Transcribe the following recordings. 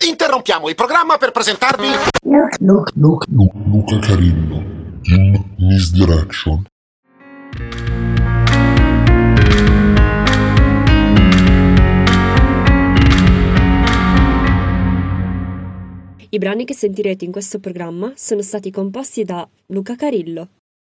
Interrompiamo il programma per presentarvi Luca Carillo in Misdirection. I brani che sentirete in questo programma sono stati composti da Luca Carillo.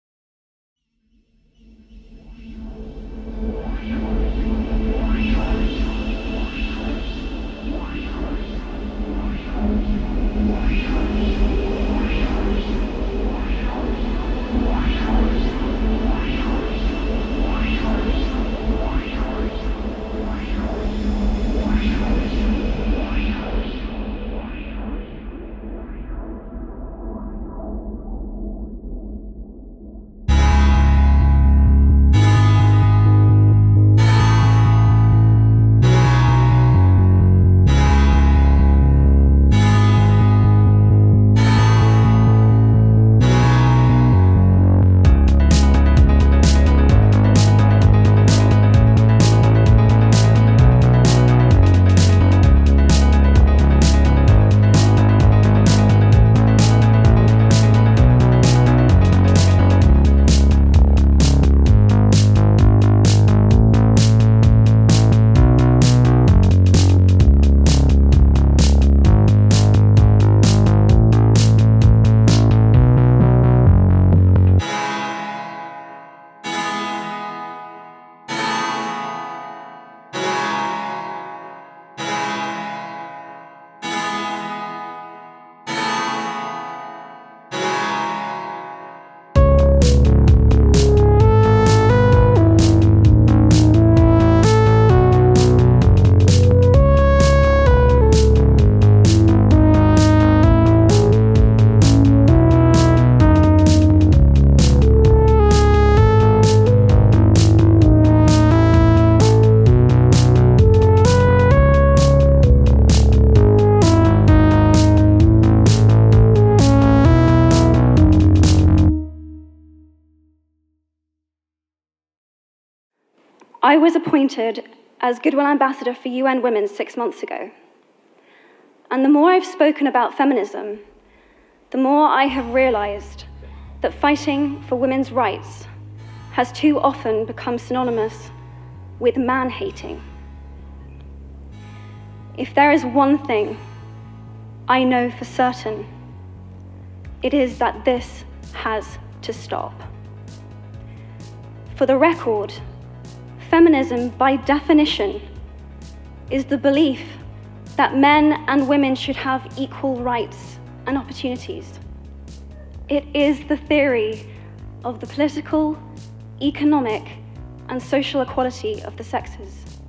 I was appointed as Goodwill Ambassador for UN Women 6 months ago. And the more I've spoken about feminism, the more I have realized that fighting for women's rights has too often become synonymous with man-hating. If there is one thing I know for certain, it is that this has to stop. For the record, feminism, by definition, is the belief that men and women should have equal rights and opportunities. It is the theory of the political, economic, and social equality of the sexes.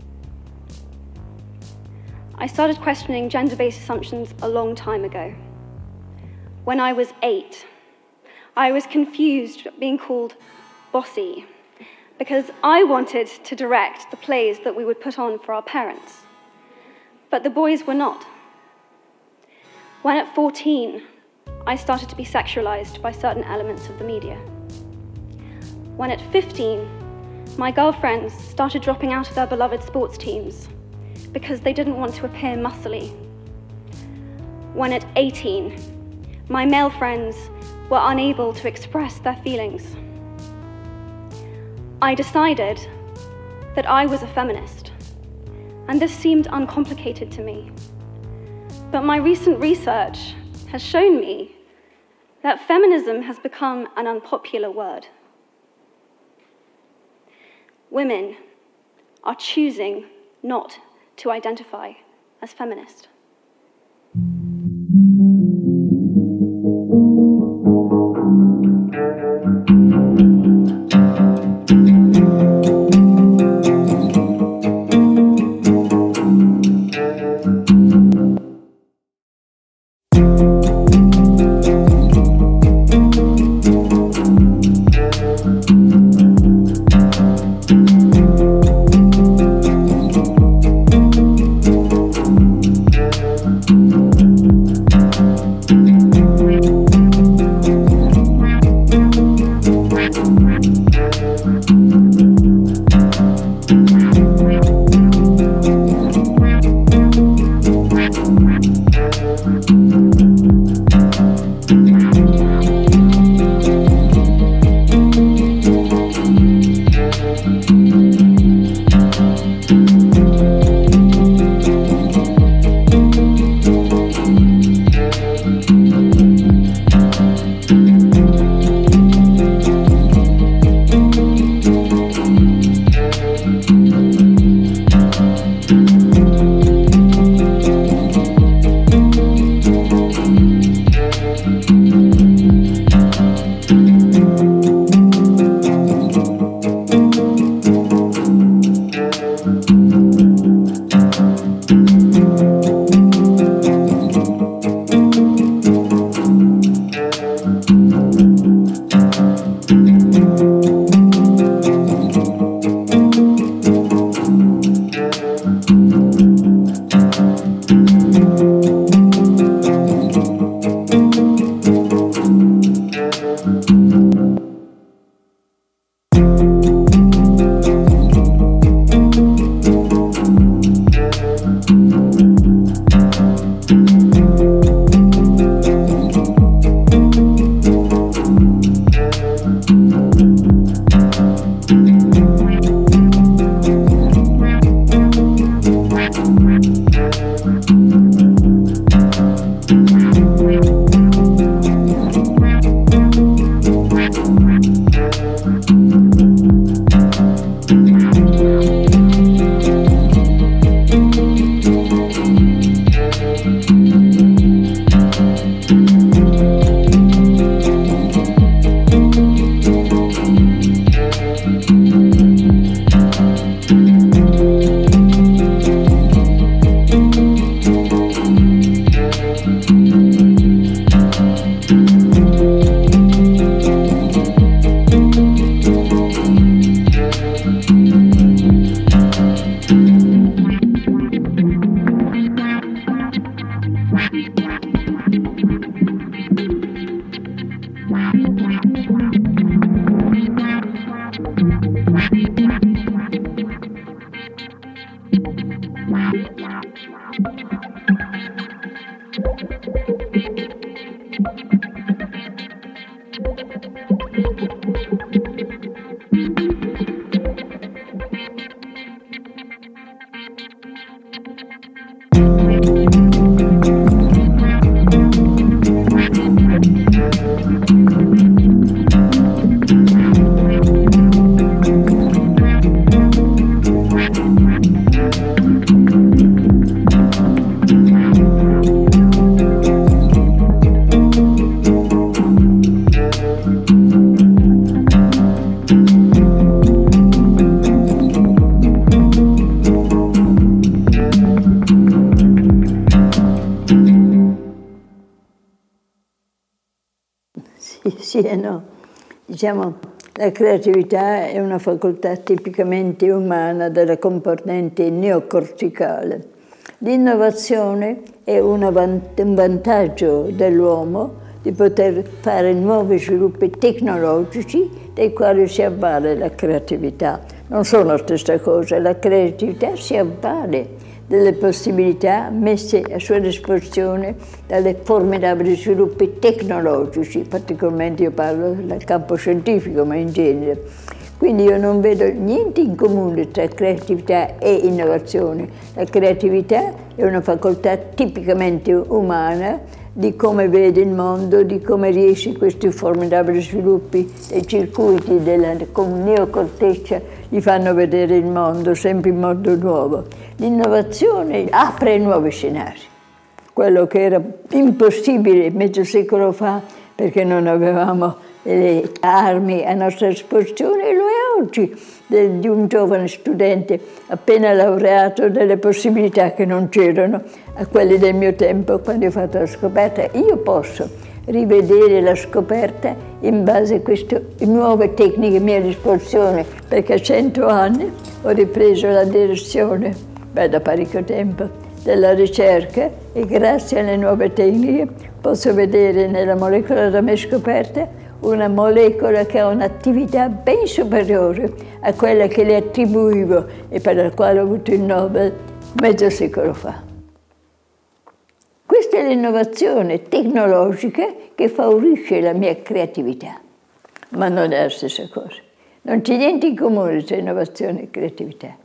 I started questioning gender-based assumptions a long time ago. When I was 8, I was confused being called bossy, because I wanted to direct the plays that we would put on for our parents. But the boys were not. When at 14, I started to be sexualized by certain elements of the media. When at 15, my girlfriends started dropping out of their beloved sports teams because they didn't want to appear muscly. When at 18, my male friends were unable to express their feelings. I decided that I was a feminist, and this seemed uncomplicated to me. But my recent research has shown me that feminism has become an unpopular word. Women are choosing not to identify as feminist. Sì e no. Diciamo, la creatività è una facoltà tipicamente umana della componente neocorticale. L'innovazione è un vantaggio dell'uomo di poter fare nuovi sviluppi tecnologici dei quali si avvale la creatività. Non sono la stessa cosa, la creatività si avvale delle possibilità messe a sua disposizione dalle formidabili sviluppi tecnologici, particolarmente io parlo del campo scientifico, ma in genere. Quindi io non vedo niente in comune tra creatività e innovazione. La creatività è una facoltà tipicamente umana di come vede il mondo, di come riesce questi formidabili sviluppi dei circuiti della neocorteccia gli fanno vedere il mondo sempre in modo nuovo. L'innovazione apre nuovi scenari. Quello che era impossibile mezzo secolo fa perché non avevamo le armi a nostra disposizione, lo è oggi di un giovane studente appena laureato, delle possibilità che non c'erano a quelli del mio tempo quando ho fatto la scoperta. Io posso rivedere la scoperta in base a queste nuove tecniche a mia disposizione, perché a 100 anni ho ripreso la direzione, da parecchio tempo, della ricerca e grazie alle nuove tecniche posso vedere nella molecola da me scoperta una molecola che ha un'attività ben superiore a quella che le attribuivo e per la quale ho avuto il Nobel mezzo secolo fa. Questa è l'innovazione tecnologica che favorisce la mia creatività, ma non è la stessa cosa. Non c'è niente in comune tra innovazione e creatività.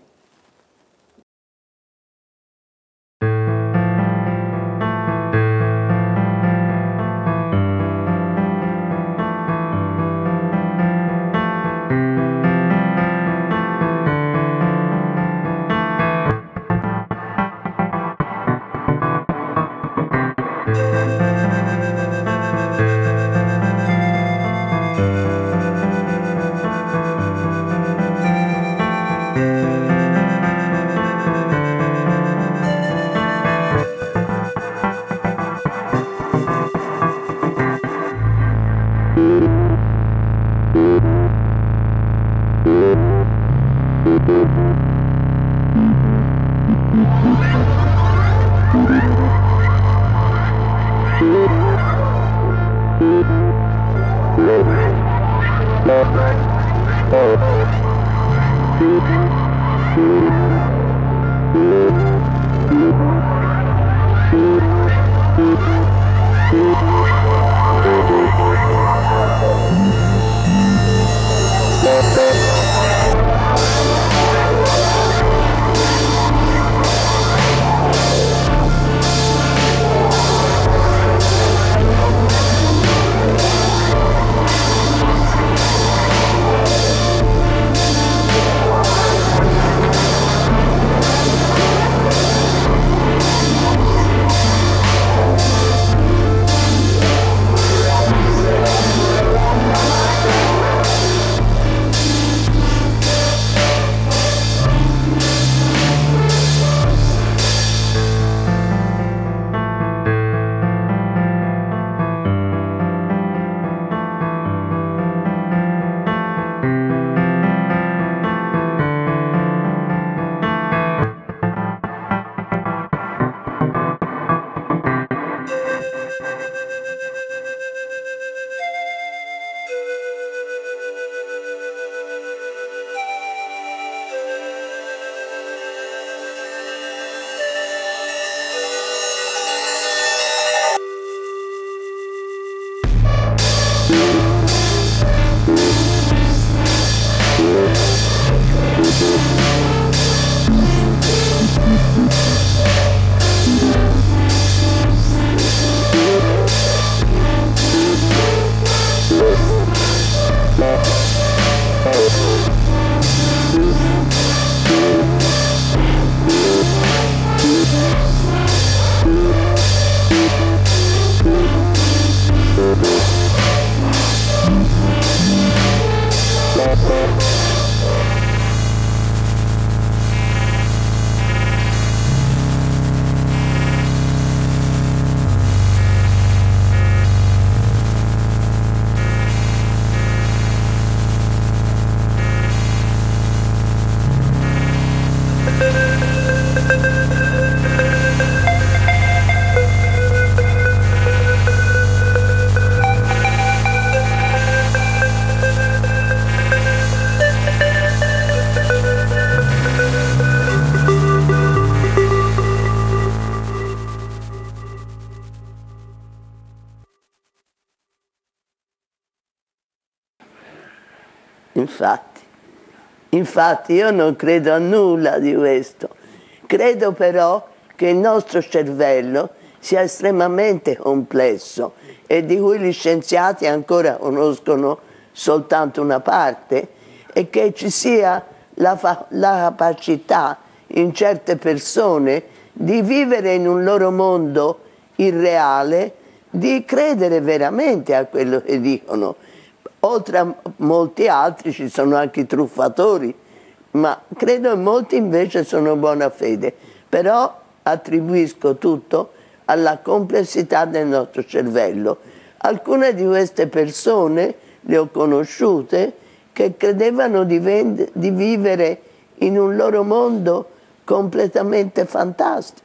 Infatti io non credo a nulla di questo. Credo però che il nostro cervello sia estremamente complesso e di cui gli scienziati ancora conoscono soltanto una parte, e che ci sia la capacità in certe persone di vivere in un loro mondo irreale, di credere veramente a quello che dicono. Oltre a molti altri ci sono anche i truffatori, ma credo che molti invece sono buona fede. Però attribuisco tutto alla complessità del nostro cervello. Alcune di queste persone le ho conosciute che credevano di vivere in un loro mondo completamente fantastico.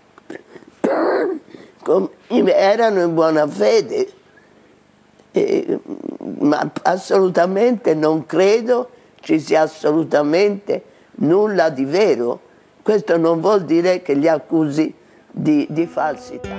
Erano in buona fede, ma assolutamente non credo ci sia assolutamente nulla di vero. Questo non vuol dire che li accusi di falsità.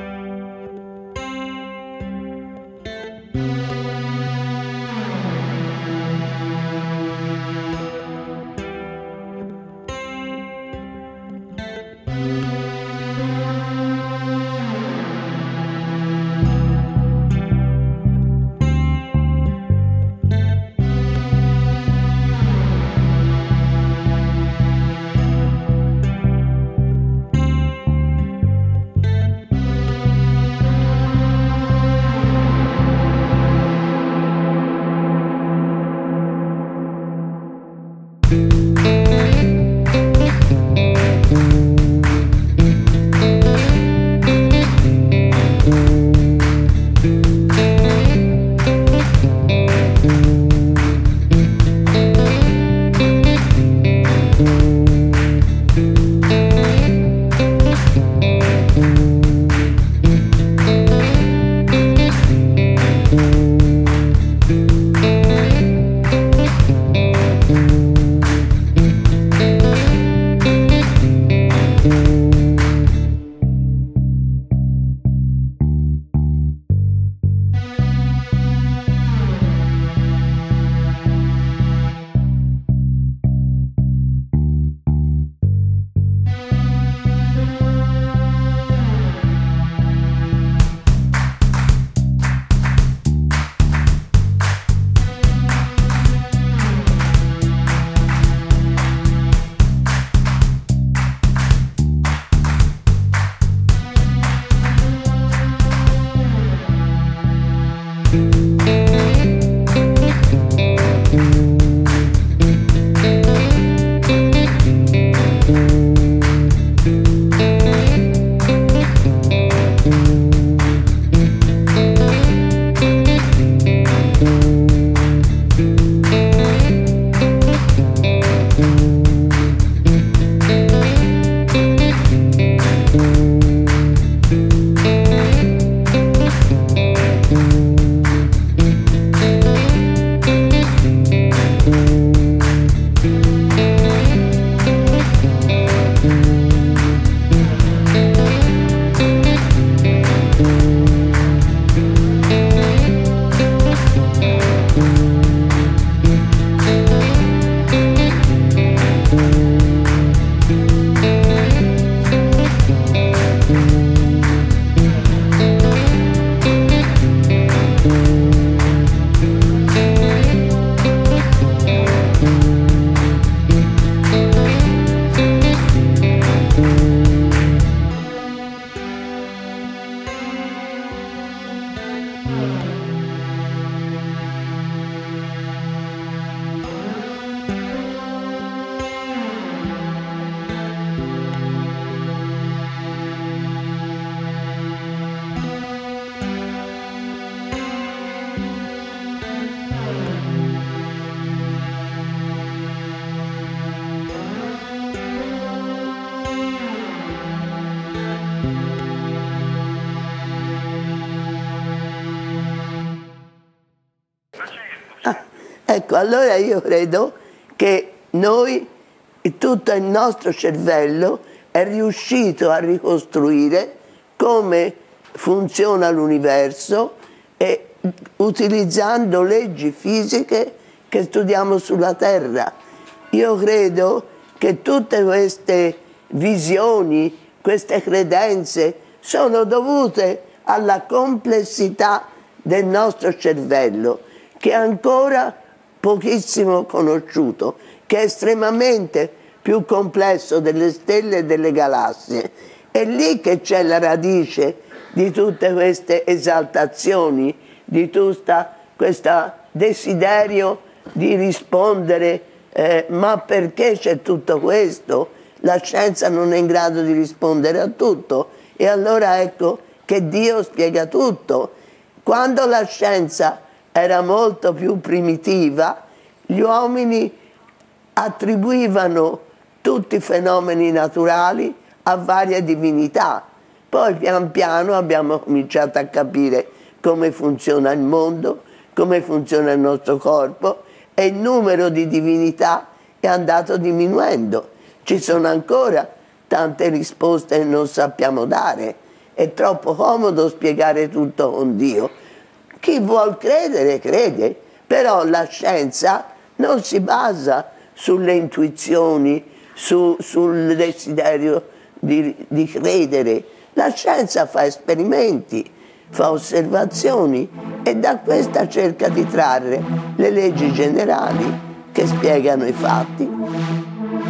Ecco, allora io credo che noi, tutto il nostro cervello è riuscito a ricostruire come funziona l'universo e utilizzando leggi fisiche che studiamo sulla Terra. Io credo che tutte queste visioni, queste credenze sono dovute alla complessità del nostro cervello, che è ancora pochissimo conosciuto, che è estremamente più complesso delle stelle e delle galassie. È lì che c'è la radice di tutte queste esaltazioni, di tutto questo desiderio di rispondere, ma perché c'è tutto questo? La scienza non è in grado di rispondere a tutto, e allora ecco che Dio spiega tutto. Quando la scienza era molto più primitiva, gli uomini attribuivano tutti i fenomeni naturali a varie divinità. Poi pian piano abbiamo cominciato a capire come funziona il mondo, come funziona il nostro corpo, e il numero di divinità è andato diminuendo. Ci sono ancora tante risposte che non sappiamo dare. È troppo comodo spiegare tutto con Dio. Chi vuol credere, crede, però la scienza non si basa sulle intuizioni, sul desiderio di credere. La scienza fa esperimenti, fa osservazioni e da questa cerca di trarre le leggi generali che spiegano i fatti.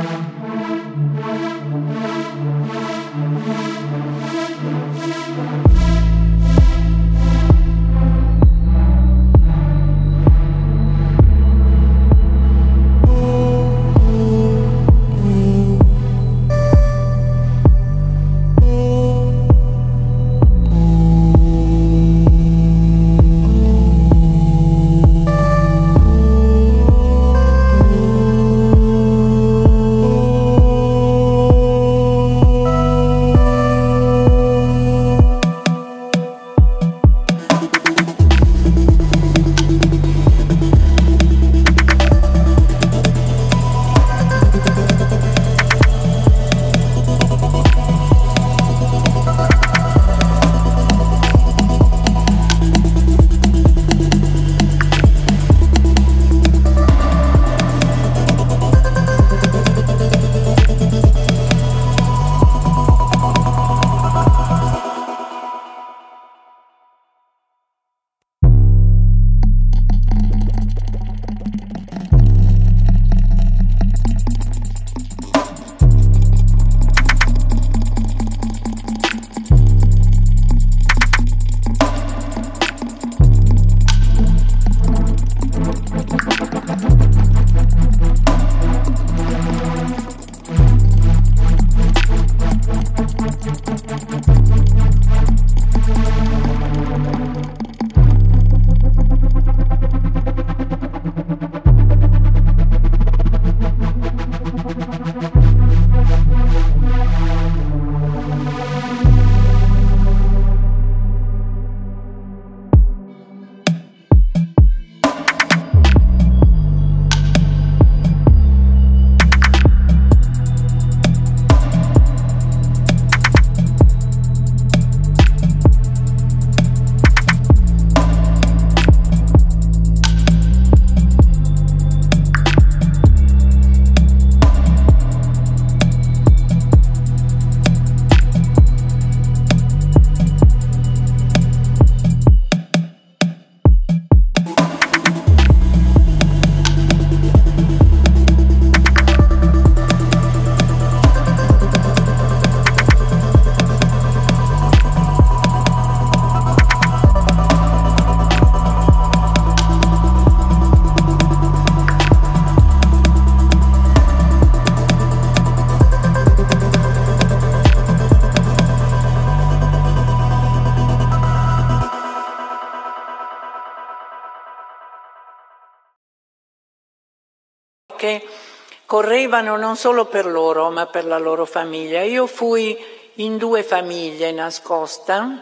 Che correvano non solo per loro, ma per la loro famiglia. Io fui in 2 famiglie nascosta,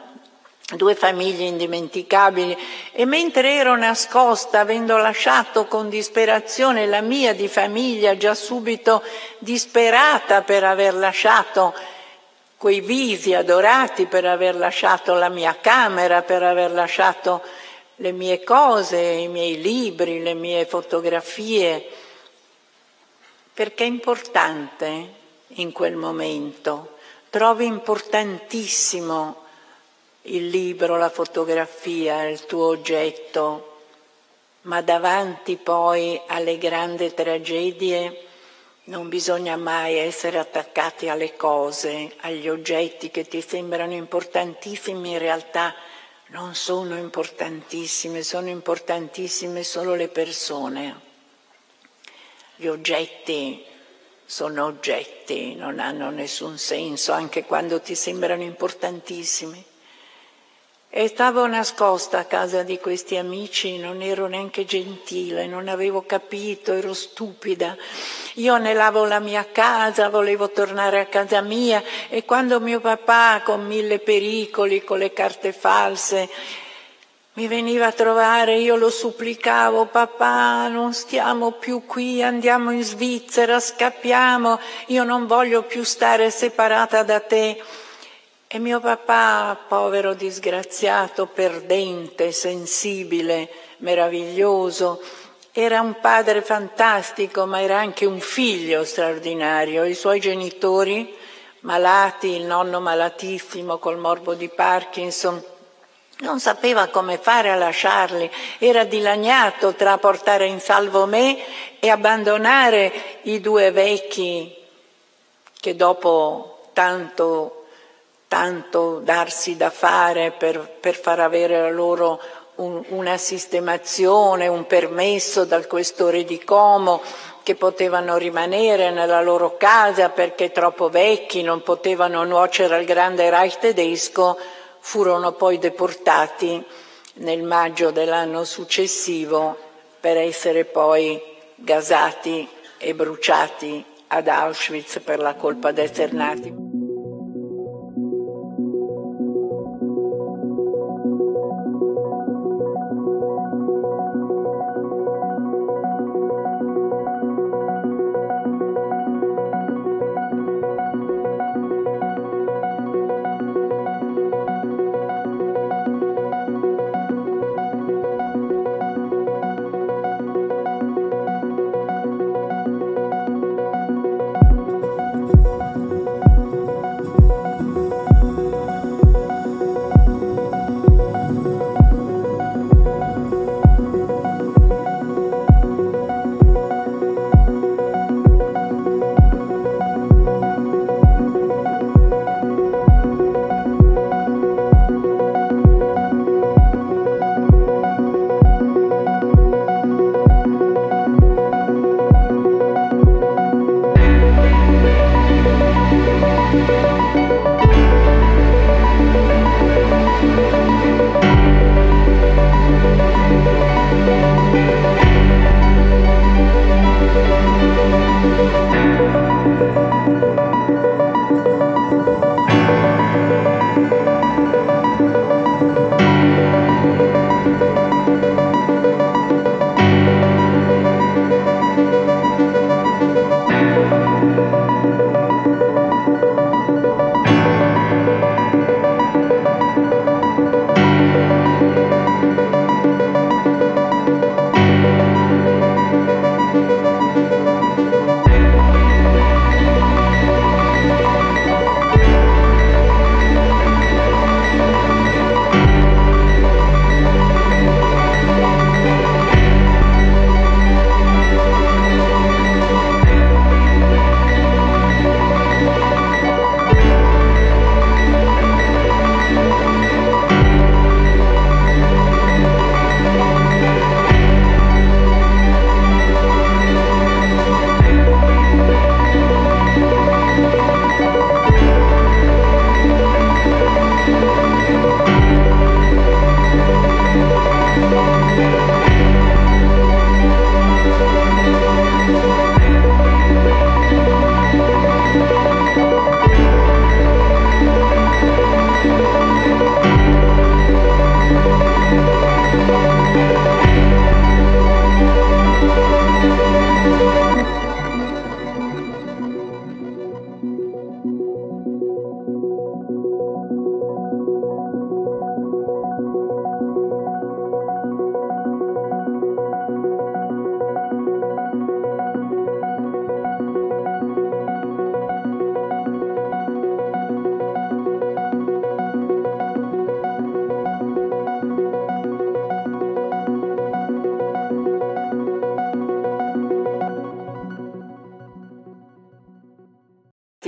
2 famiglie indimenticabili, e mentre ero nascosta, avendo lasciato con disperazione la mia di famiglia, già subito disperata per aver lasciato quei visi adorati, per aver lasciato la mia camera, per aver lasciato le mie cose, i miei libri, le mie fotografie, perché è importante in quel momento. Trovi importantissimo il libro, la fotografia, il tuo oggetto, ma davanti poi alle grandi tragedie non bisogna mai essere attaccati alle cose, agli oggetti che ti sembrano importantissimi, in realtà non sono importantissime, sono importantissime solo le persone. Gli oggetti sono oggetti, non hanno nessun senso, anche quando ti sembrano importantissimi. E stavo nascosta a casa di questi amici, non ero neanche gentile, non avevo capito, ero stupida. Io anelavo la mia casa, volevo tornare a casa mia, e quando mio papà, con 1000 pericoli, con le carte false, mi veniva a trovare, io lo supplicavo: papà, non stiamo più qui, andiamo in Svizzera, scappiamo, io non voglio più stare separata da te. E mio papà, povero disgraziato, perdente, sensibile, meraviglioso, era un padre fantastico, ma era anche un figlio straordinario. I suoi genitori, malati, il nonno malatissimo col morbo di Parkinson, non sapeva come fare a lasciarli, era dilaniato tra portare in salvo me e abbandonare i 2 vecchi che dopo tanto darsi da fare per far avere a loro una sistemazione, un permesso dal questore di Como, che potevano rimanere nella loro casa perché troppo vecchi, non potevano nuocere al grande Reich tedesco, furono poi deportati nel maggio dell'anno successivo per essere poi gasati e bruciati ad Auschwitz per la colpa di essere nati.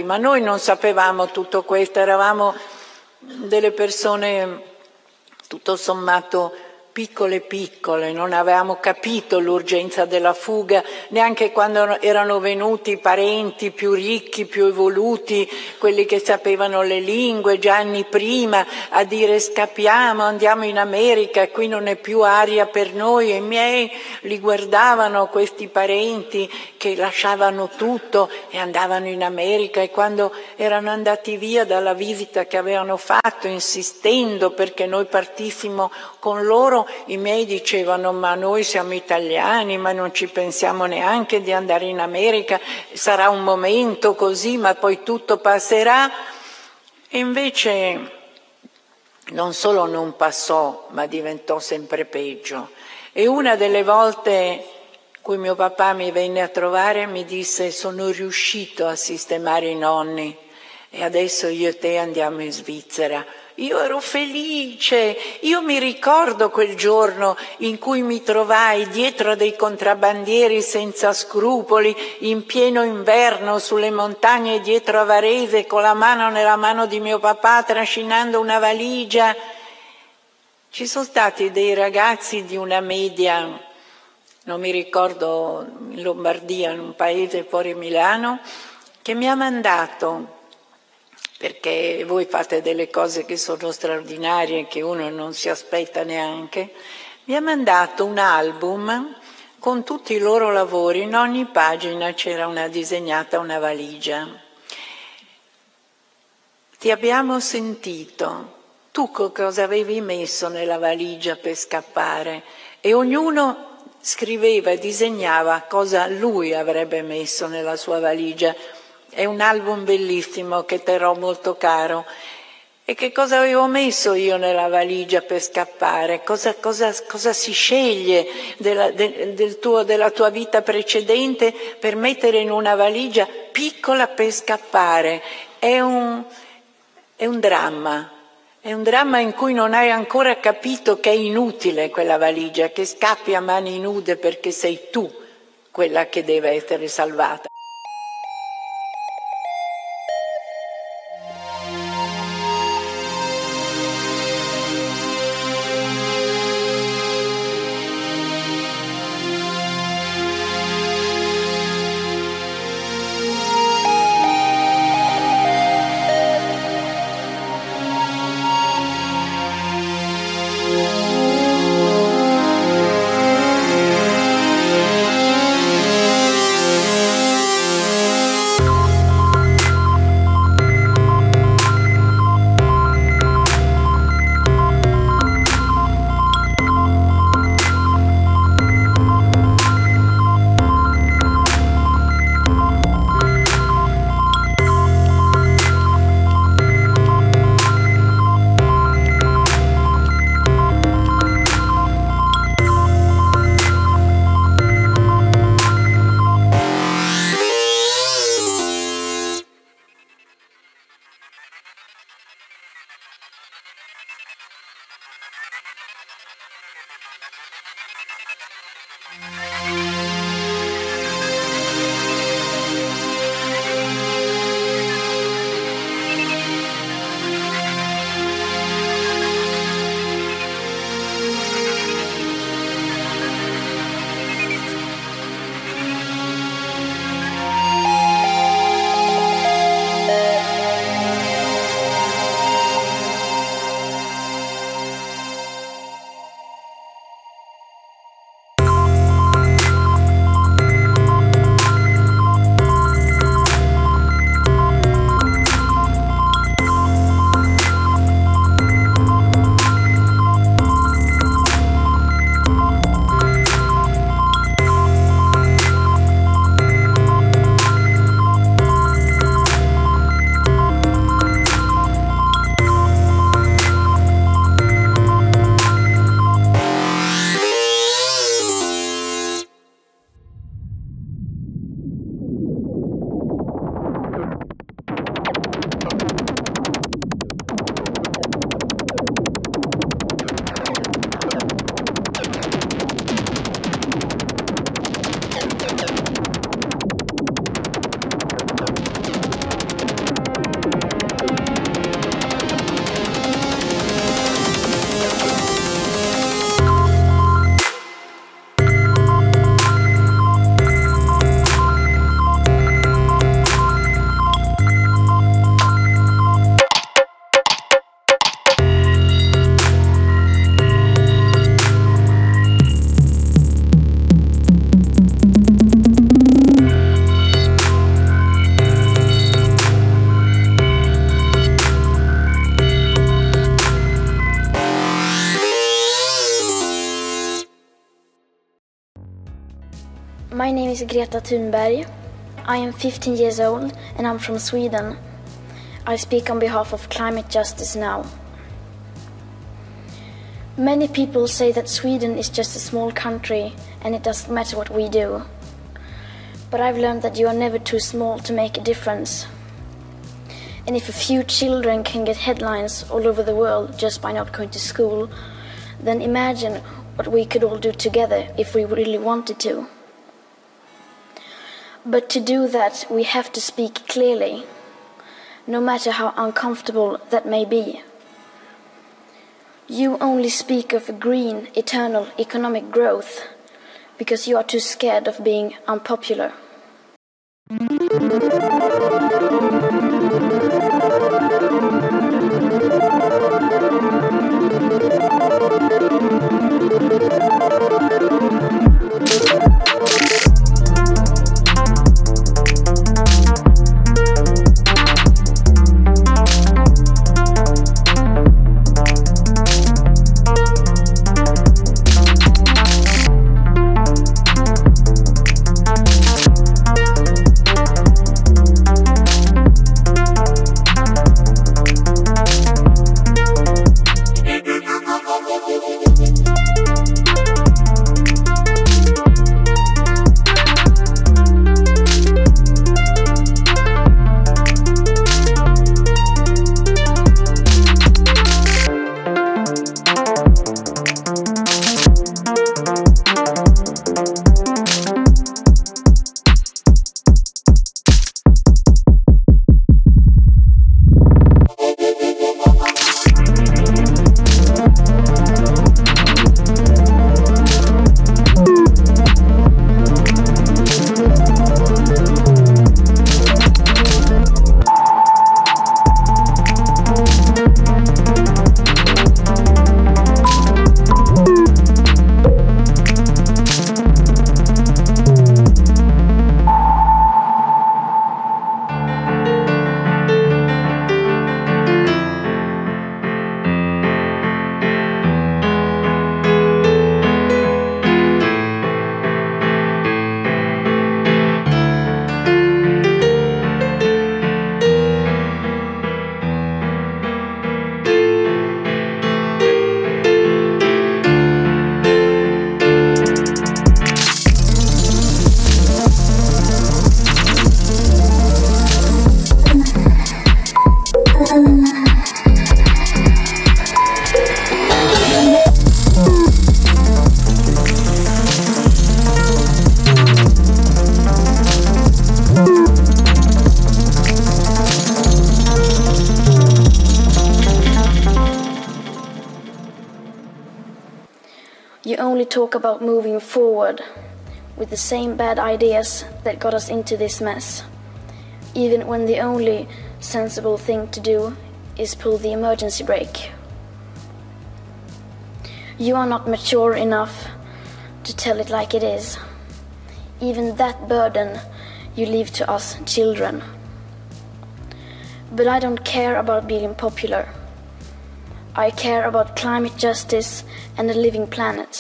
ma noi non sapevamo tutto questo, eravamo delle persone tutto sommato piccole, non avevamo capito l'urgenza della fuga, neanche quando erano venuti i parenti più ricchi, più evoluti, quelli che sapevano le lingue già anni prima, a dire scappiamo, andiamo in America, qui non è più aria per noi. E i miei li guardavano, questi parenti che lasciavano tutto e andavano in America, e quando erano andati via dalla visita che avevano fatto, insistendo perché noi partissimo con loro, i miei dicevano: ma noi siamo italiani, ma non ci pensiamo neanche di andare in America, sarà un momento così, ma poi tutto passerà. E invece non solo non passò, ma diventò sempre peggio. E una delle volte in cui mio papà mi venne a trovare mi disse: sono riuscito a sistemare i nonni e adesso io e te andiamo in Svizzera. Io ero felice, io mi ricordo quel giorno in cui mi trovai dietro a dei contrabbandieri senza scrupoli, in pieno inverno, sulle montagne dietro a Varese, con la mano nella mano di mio papà, trascinando una valigia. Ci sono stati dei ragazzi di una media, non mi ricordo, in Lombardia, in un paese fuori Milano, che mi ha mandato, perché voi fate delle cose che sono straordinarie, che uno non si aspetta neanche, mi ha mandato un album con tutti i loro lavori, in ogni pagina c'era disegnata una valigia. Ti abbiamo sentito, tu cosa avevi messo nella valigia per scappare? E ognuno scriveva e disegnava cosa lui avrebbe messo nella sua valigia. È un album bellissimo che terrò molto caro. E che cosa avevo messo io nella valigia per scappare? Cosa si sceglie della tua vita precedente per mettere in una valigia piccola per scappare? È un dramma. È un dramma in cui non hai ancora capito che è inutile quella valigia, che scappi a mani nude perché sei tu quella che deve essere salvata. My name is Greta Thunberg. I am 15 years old and I'm from Sweden. I speak on behalf of climate justice now. Many people say that Sweden is just a small country and it doesn't matter what we do. But I've learned that you are never too small to make a difference. And if a few children can get headlines all over the world just by not going to school, then imagine what we could all do together if we really wanted to. But to do that, we have to speak clearly, no matter how uncomfortable that may be. You only speak of green, eternal economic growth because you are too scared of being unpopular. You only talk about moving forward with the same bad ideas that got us into this mess, even when the only sensible thing to do is pull the emergency brake. You are not mature enough to tell it like it is. Even that burden you leave to us children. But I don't care about being popular. I care about climate justice and a living planet.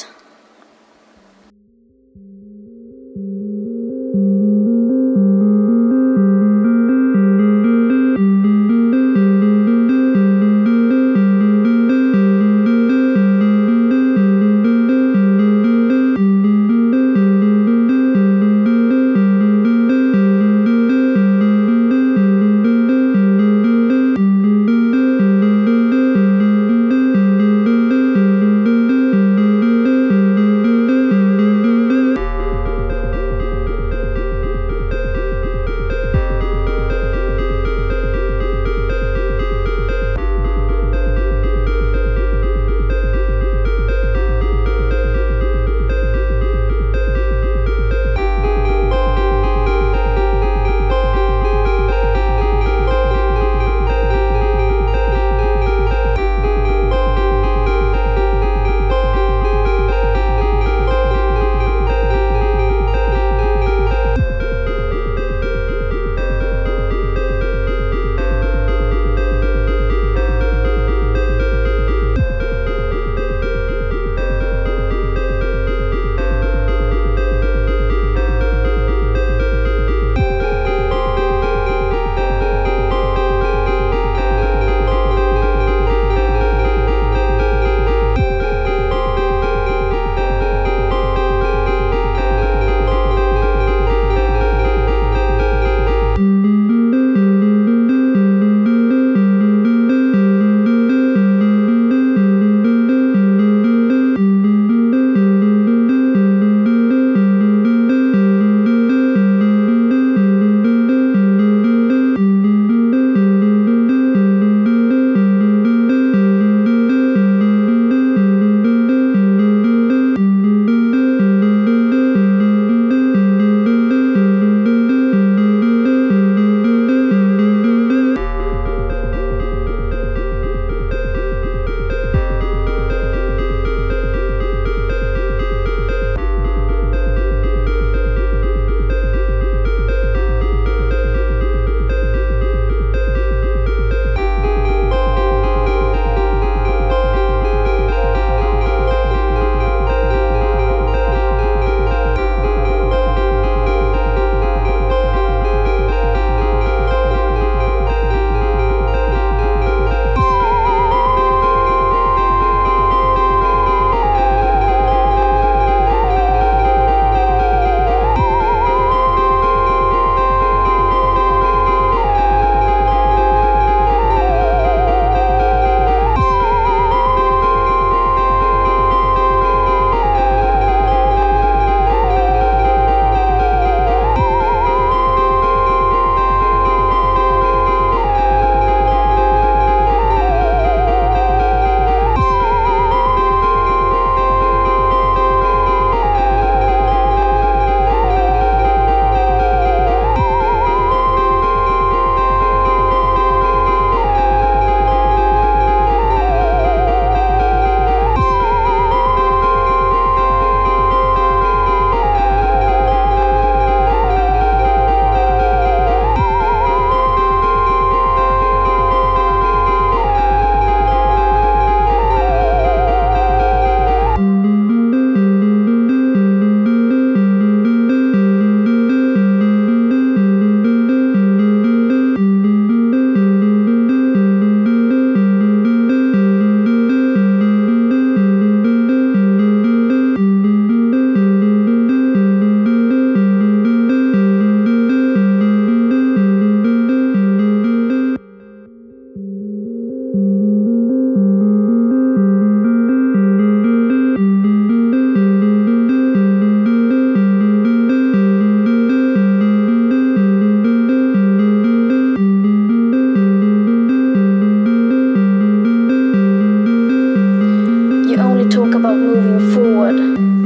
we talk about moving forward.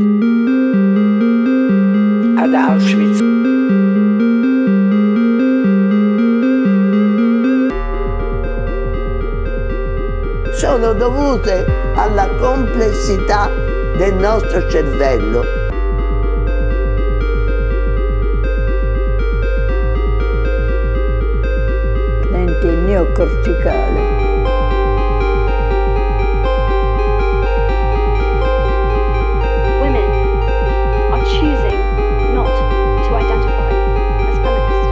Ad Auschwitz. Sono dovute alla complessità del nostro cervello. Neocorticale. Women are choosing not to identify as feminist.